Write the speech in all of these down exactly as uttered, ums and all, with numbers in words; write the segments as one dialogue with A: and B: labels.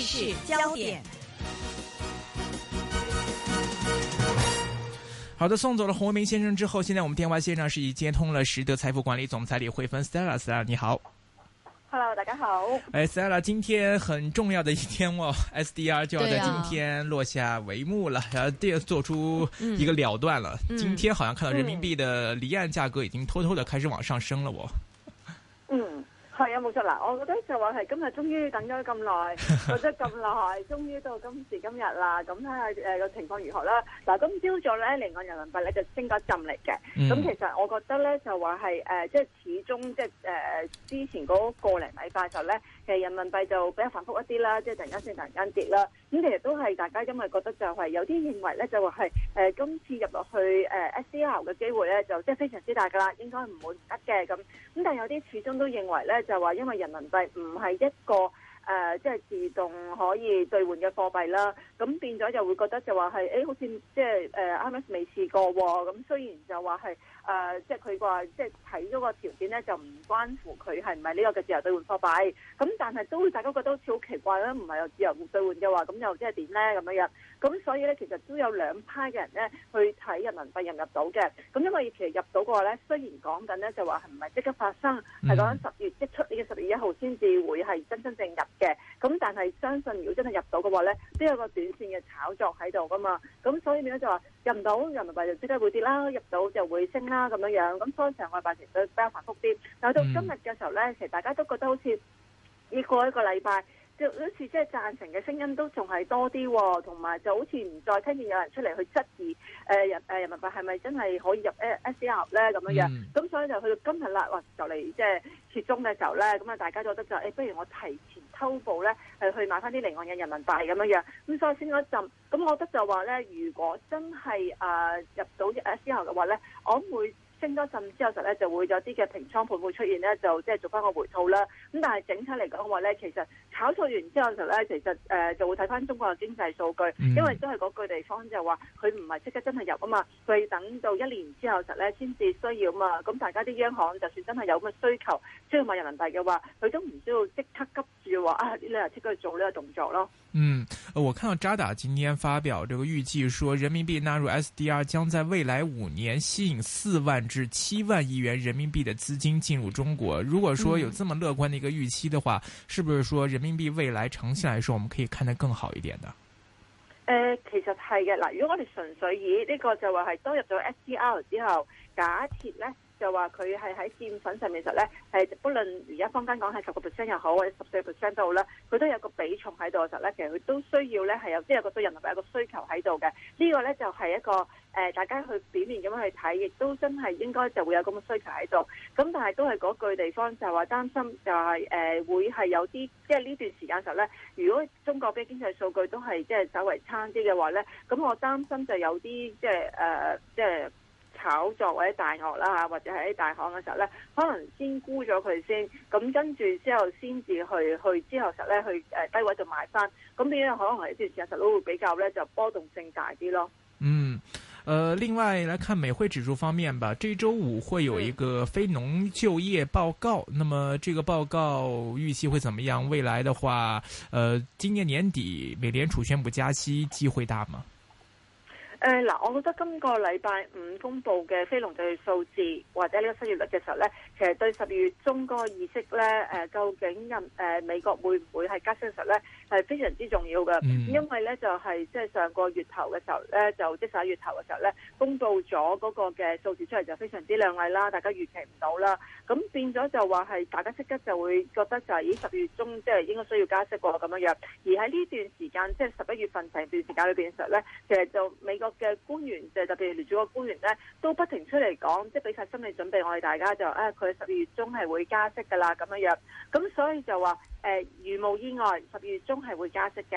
A: 市焦點。
B: 好的，送走了洪為民先生之後，現在我們電話線上是已接通了實德財富管理總裁李慧芬 Stella，Stella 你好。
C: Hello， 大家好。
B: 哎 ，Stella，今天很重要的一天哦 ，S D R 就要在今天落下帷幕了，然後第做出一個了斷了。嗯、今天好像看到人民幣的離岸價格已經偷偷的開始往上升了，我。
C: 嗯。係啊，冇錯啦！我覺得就話係今日終於等咗咁耐，覺得咁耐，終於到今時今日啦。咁睇下誒個情況如何啦。嗱，今朝早咧離岸人民幣咧就升咗一陣嚟嘅。咁、嗯、其實我覺得咧就話係誒，即係始終即係誒之前嗰個零禮拜就咧，其實人民幣就比較反覆一啲啦，即係突然間升，突然間跌啦。咁其實都係大家因為覺得就係有啲認為咧就話係誒今次入落去誒 S D R 嘅機會咧就即係非常之大㗎啦，應該唔會唔得嘅咁。咁但係有啲始終都認為咧。就話因為人民幣唔係一個誒，即、呃、係、就是、自動可以兌換嘅貨幣啦，咁變咗就會覺得就話係誒，好似即係誒 I M F 未試過喎。咁雖然就話係誒，即係佢話即係睇咗個條件咧，就唔關乎佢係唔係呢個嘅自由兌換貨幣。咁但係都大家覺得好似好奇怪啦，唔係有自由兌換嘅話，咁又即係點咧咁樣樣？咁所以咧，其實都有兩派嘅人咧去睇人民幣入唔入到嘅。咁因為其實入到嘅話咧，雖然講緊咧就話係唔係即刻發生，係講緊十月即出年嘅十月一號先至會係真真正入嘅。咁但係相信如果真係入到嘅話咧，都有個短線嘅炒作喺度噶嘛。咁所以變咗就話入唔到人民幣就即刻會跌啦，入到就會升啦咁樣樣。咁所以成個禮拜其實比較繁複啲。但係到今日嘅時候咧，其實大家都覺得好似呢過一個禮拜。就好似即係贊成嘅聲音都仲係多啲、哦，同埋就好似唔再聽見有人出嚟去質疑誒人誒人民幣係咪真係可以入 S D R 咧咁樣樣。咁、嗯、所以就去到今日啦，哇就嚟即係揭盅嘅時候咧，咁啊大家覺得就誒、欸，不如我提前偷步咧，係去買翻啲離岸嘅人民幣咁樣樣。咁所以先嗰陣，咁我覺得就話咧，如果真係誒、呃、入到 S D R 嘅話咧，我會。升多陣之後實咧就會有啲嘅平倉盤會出現咧，就即係做翻個回吐啦。咁但係整體嚟講嘅話咧，其實炒作完之後實咧，其實誒、呃、就會睇翻中國嘅經濟數據，嗯、因為都係嗰句地方就話佢唔係即刻真係入啊嘛，佢要等到一年之後實咧先至需要啊嘛。咁大家啲央行就算真係有咁嘅需求需要買人民幣嘅話，佢都唔需要即刻急住話啊呢兩日即刻去做呢個動作咯。
B: 嗯，我看到渣打今天發表這個預計說，人民幣納入 S D R 將在未來五年吸引四萬至七萬億元人民幣的資金進入中國。如果說有這麼樂觀的一個預期的話，嗯、是不是說人民幣未來長期來說，我們可以看得更好一點的？誒、
C: 呃，其實係嘅。嗱，如果我哋純粹以呢個就話係都入咗 S D R 之後，假設咧。就話佢係喺澱粉上面實咧，係不論而家坊間講係十個 percent 又好，或者十四個 percent 都好啦，佢都有個比重喺度嘅時候咧，其實佢都需要咧係有即係有個對人民幣有個需求喺度嘅。這個、呢個咧就係、是、一個誒、呃，大家去表面咁樣去睇，亦都真係應該就會有咁嘅需求喺度。咁但係都係嗰句地方就係話擔心就係、是、誒、呃、會係有啲即係呢段時間嘅時候咧，如果中國嘅經濟數據都係即係稍微差啲嘅話咧，咁我擔心就有啲即係誒即係。炒作或者大鱷啦嚇，或者係喺大行嘅時候咧，可能先沽咗佢先，咁跟住之後先至去去之後實咧去誒低位就買翻，咁變咗可能係呢段時間實都會比較咧就波動性大啲咯。
B: 嗯，呃，另外來看美匯指數方面吧，這周五會有一個非農就業報告，嗯、那麼這個報告預期會怎麼樣？未來的話，呃，今年年底美聯儲宣布加息機會大嗎？
C: 誒嗱、呃，我覺得今個禮拜五公布嘅非農就業數字或者呢個失業率嘅時候咧，其實對十二月中嗰個議息咧，誒、呃、究竟任誒、呃、美國會唔會係加息嘅時候咧，係非常之重要嘅。嗯、因為咧就係即係上個月頭嘅時候咧，就即係十一月頭嘅時候咧，公布咗嗰個嘅數字出嚟就非常之亮麗啦，大家預期唔到啦。咁變咗就話係大家即刻就會覺得就係咦十月中即係應該需要加息喎咁樣樣。而喺呢段時間即係十一月份成段時間裏邊嘅時候咧，其實就美國嘅官員就特別聯儲局官員咧，都不停出嚟講，即係俾晒心理準備，我哋大家就啊，佢十二月中係會加息噶啦咁樣樣，咁所以就話誒，如無意外，十二月中係會加息嘅。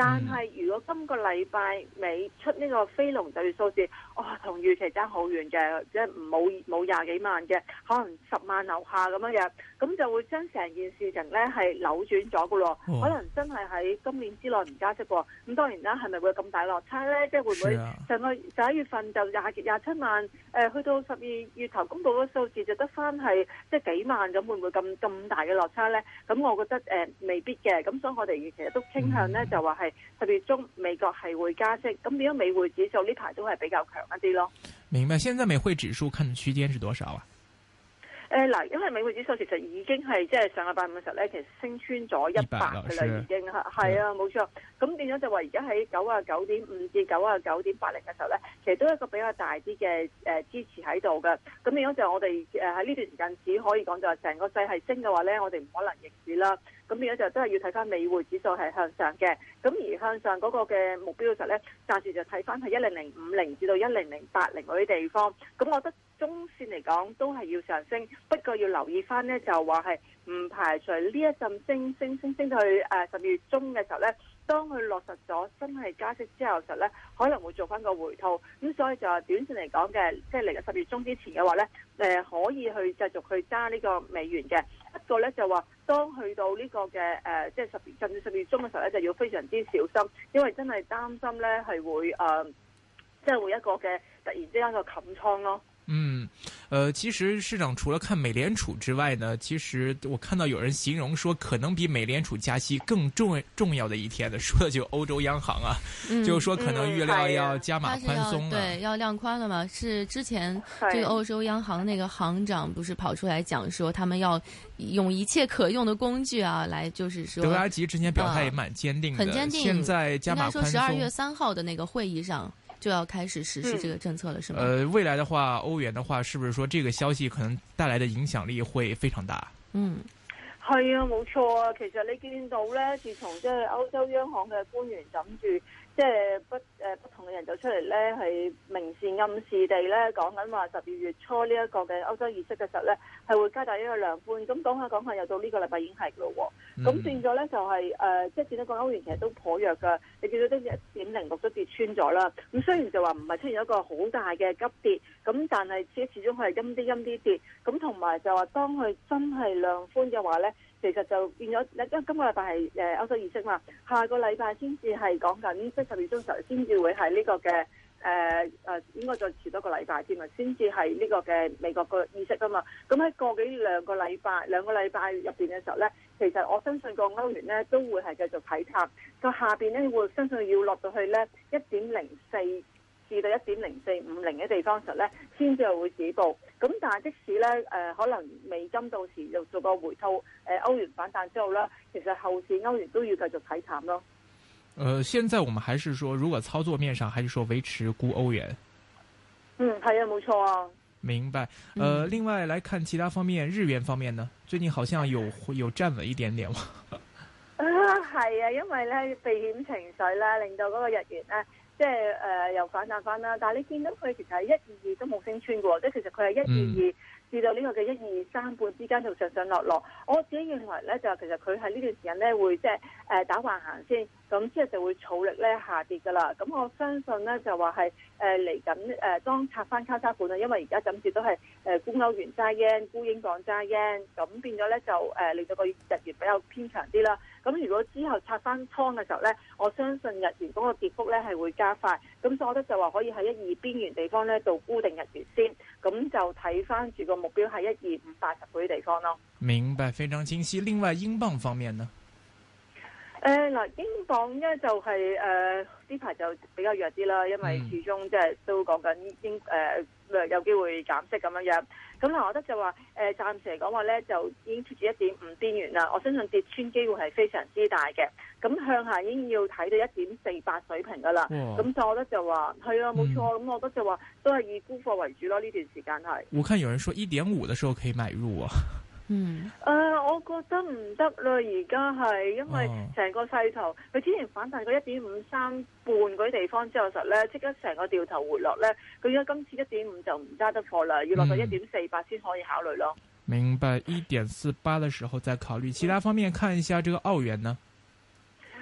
C: 但係如果今個禮拜尾出呢個非農就業數字，哇、哦，同預期爭好遠嘅，即係冇冇廿幾萬嘅，可能十萬樓下咁樣樣，咁就會將成件事情咧係扭轉咗噶咯，可能真係喺今年之內唔加息喎。咁當然啦，係咪會咁大落差咧？即係會唔會上個十一月份就廿廿七萬，誒、呃、去到十二月頭公布嗰數字就得翻係即係幾萬，咁會唔會咁咁大嘅落差咧？咁我覺得誒、呃、未必嘅，咁所以我哋其實都傾向咧就話係十月中美國係會加息，咁變咗美匯指數呢排都係比較強一啲咯。
B: 明白，現在美匯指數看的區間是多少啊？
C: 誒嗱，因為美匯指數其實已經係即係上個禮拜五嘅時候咧，其實升穿咗一百嘅啦，已經係係啊，冇錯。咁變咗就話而家喺九啊九點五至九啊九點八零嘅時候咧，其實都係一個比較大啲嘅誒支持喺度嘅。咁變咗就我哋誒喺呢段時間只可以講就係成個勢係升嘅話咧，我哋唔可能逆市啦。咁變咗就都係要睇翻美匯指數係向上嘅。咁而向上嗰個嘅目標嘅時候咧，暫時就睇翻係一零零五零至到一零零八零嗰啲地方。咁我覺得中線嚟講都係要上升，不過要留意翻呢，就話係唔排除呢一陣升升升升到去誒十二月中嘅時候呢，當佢落實咗真係加息之後嘅時候呢，可能會做翻個回吐。咁所以就係短線嚟講嘅，即係嚟到十月中之前嘅話呢，誒可以去繼續去揸呢個美元嘅。一個呢，就話當去到呢個嘅誒，即係十月甚至十月中嘅時候呢，就要非常之小心，因為真係擔心呢係會誒，即係會一個嘅突然之間個冚倉咯。
B: 嗯，呃，其實市場除了看美聯儲之外呢，其實我看到有人形容說，可能比美聯儲加息更重重要的一天呢，說的就歐洲央行啊，嗯、就是說可能預料要加碼寬鬆、啊嗯、
A: 對，要量寬了嘛？是之前這個歐洲央行那個行長不是跑出來講說，他們要用一切可用的工具啊，來就是說，
B: 德拉吉之前表態也蠻堅定的，
A: 呃、很堅定。
B: 現在加碼寬鬆，應該說十二
A: 月三號的那個會議上。就要開始實施這個政策了，是嗎？
B: 呃，未來的話，歐元的話，是不是說這個消息可能帶來的影響力會非常大？
C: 嗯，係啊，冇錯啊。其實你見到咧，自從即係歐洲央行嘅官員諗住，即係不誒不同嘅人就出嚟咧，係明示暗示地咧講緊話十二月初呢一個嘅歐洲議息嘅時候咧，係會加大呢個量寬。咁講下講下，又到呢個禮拜已經係咯喎。咁、嗯、變咗咧就係、是、誒、呃，即係見到個歐元其實都頗弱㗎。你見到都一點零六都跌穿咗啦。咁雖然就話唔係出現一個好大嘅急跌，咁但係始始終係陰啲陰啲跌。咁同埋就話當佢真係量寬嘅話咧，其實就變咗，因為今個禮拜係誒歐洲議息嘛，下個禮拜先至係講緊即係十月中時候先至會係呢個嘅誒誒，應該再遲多個禮拜添啊，先至係呢個嘅美國個議息啊嘛。咁喺個幾兩個禮拜兩個禮拜入邊嘅時候咧，其實我相信個歐元咧都會係繼續睇淡，個下邊咧會相信要落到去咧一點零四至到一點零四五零嘅地方時候咧，先至會止步。咁但係即使咧誒、呃、可能美金到時又做個回吐，誒、呃、歐元反彈之後咧，其實後市歐元都要繼續睇淡咯。
B: 呃，現在我們還是說，如果操作面上，還是說維持沽歐元？
C: 嗯，係啊，冇錯啊。
B: 明白。呃，另外來看其他方面，日元方面呢，最近好像有有站穩一點點。
C: 啊，係啊，因為咧避險情緒咧，令到嗰個日元咧。即係誒、呃、又反彈翻啦，但係你見到佢其實係一二二都冇升穿嘅，即係其實佢係一二二至到呢個嘅一二三半之間度上上落落。我自己認為咧，就其實佢喺呢段時間咧會即係誒打橫行先，咁之後就會儲力咧下跌㗎啦。咁我相信咧就話係誒嚟緊誒當拆翻交叉盤啦，因為而家暫時都係誒沽歐元揸 yen、沽英鎊揸 yen，咁變咗咧就誒、呃、令到個日元比較偏強啲啦。咁如果之後拆翻倉嘅時候咧，我相信日元嗰個跌幅咧係會加快，咁所以我覺得就話可以喺一二邊緣地方咧度沽定日元先，咁就睇翻住個目標係一二五八十嗰啲地方咯。
B: 明白，非常清晰。另外，英鎊方面呢？
C: 誒嗱、呃，英鎊咧就係誒呢排就比較弱啲啦，因為始終即係都講緊英誒、呃、有機會減息咁樣樣。咁嗱，我覺得就話誒、呃、暫時嚟講話咧，就已經貼住一點五邊緣啦。我相信跌穿機會係非常之大嘅。咁向下已經要睇到一點四八水平噶啦。咁所以我覺得就話係啊，冇錯。咁、嗯、我覺得就話都係以沽貨為主咯。呢段時間係。我看有人說一點五嘅時候可以買入啊。嗯，誒、呃，我覺得唔得啦，而家係因為成個勢頭，佢、哦、之前反彈過一點五三半嗰啲地方之後實咧，即刻成個掉頭回落咧，佢而家今次一點五就唔揸得貨啦，要落到一點四八先可以考慮咯。
B: 明白，一點四八嘅時候再考慮。其他方面看一下這個澳元呢？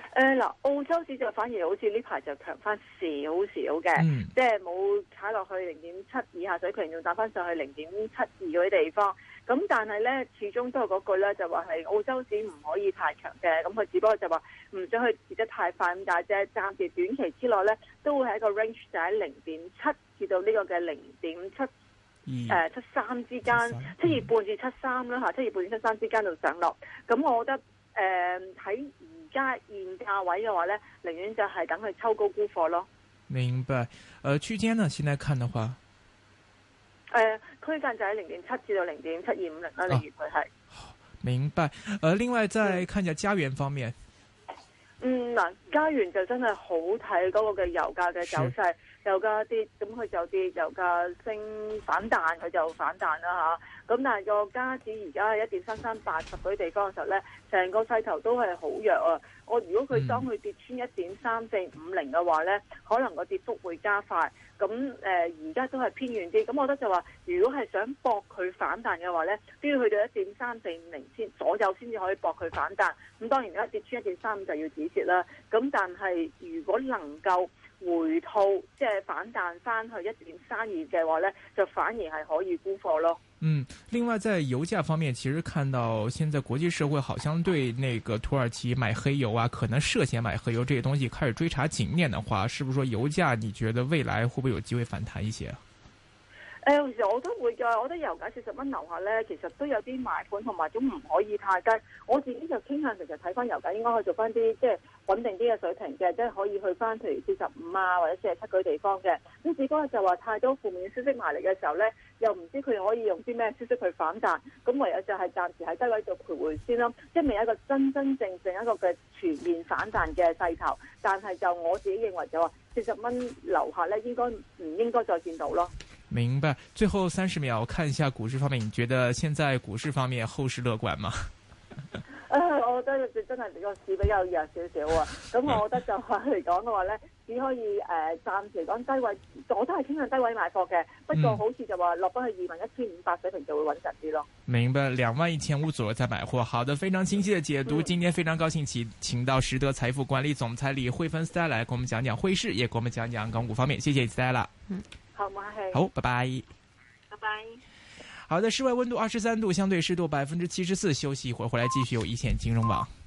C: 誒嗱，澳洲指就反而好似呢排就強翻少少嘅，
B: 嗯、
C: 即係冇踩落去零點七以下水平，仲打翻上去零點七二嗰啲地方。咁但係咧，始終都係嗰句咧，就話係澳洲指唔可以太強嘅。咁佢只不過就話唔想去跌得太快咁解啫。暫時短期之內咧，都會喺一個 range 就喺零點七至到呢個嘅零點七誒七三之間，七二半至七三啦嚇，七二半至七三之間度上落。咁我覺得誒喺而家現價位嘅話咧，寧願就係等佢抽高沽貨咯。
B: 明白。呃，區間呢？現在看的話，
C: 誒、呃，區間就喺零點七至到零點七二五零啦。例如佢係。
B: 明白。呃，另外再看一下加元方面。
C: 嗯嗱，加元就真係好睇嗰個嘅油價嘅走勢，油價跌，咁佢就跌；油價升反彈，佢就反彈啦嚇。咁但係個加指而家係一點三三八十嗰啲地方嘅時候咧，成個勢頭都係好弱啊！我如果佢當佢跌穿一點三四五零嘅話咧，可能個跌幅會加快。咁誒而家都係偏遠啲，咁我覺得就話，如果係想搏佢反彈嘅話咧，都要去到一點三四五零先左右先至可以搏佢反彈。咁當然而家跌穿一點三五就要止蝕啦。咁但係如果能夠回吐，即係反彈翻去一點三二嘅話咧，就反而係可以沽貨咯。
B: 嗯，另外在油價方面，其實看到現在國際社會好像對那個土耳其買黑油啊，可能涉嫌買黑油這些東西開始追查緊點的話，是不是說油價你覺得未來會不會有機會反彈一些？
C: 誒，其實我都會㗎，我覺得油價四十蚊樓下咧，其實都有啲買盤同埋都唔可以太低。我自己就傾向其實睇翻油價應該可以做翻啲即係穩定啲嘅水平嘅，即係可以去翻譬如四十五啊或者四十七嗰啲地方嘅。咁只不過就話太多負面消息埋嚟嘅時候咧，又唔知佢可以用啲咩消息去反彈，咁唯有就係暫時喺低位度徘徊先咯，即係未有一個真真正正一個嘅全面反彈嘅勢頭。但係就我自己認為就話四十蚊樓下咧，應該唔應該再見到咯。
B: 明白。最後三十秒，看一下股市方面，你覺得現在股市方面後市樂觀嗎？
C: 誒、呃，我覺得真係個市比較弱少少啊。咁我覺得就話嚟講嘅話咧，只可以誒、呃、暫時嚟講低位，我都係傾向低位買貨嘅。不過好似就話落翻去二萬一千五百水平就會穩陣啲咯。
B: 明白，兩萬一千五左右再買貨。好的，非常清晰的解讀。嗯、今天非常高興請請到實德財富管理總裁李慧芬 Stella 來跟我們講講匯市，也跟我們講講港股方面。謝謝 Stella。嗯。
C: 好，唔客氣。
B: 好，拜拜。
C: 拜拜。
B: 好的，室外溫度二十三度，相對濕度百分之七十四。休息一會兒，回來繼續有一線金融網。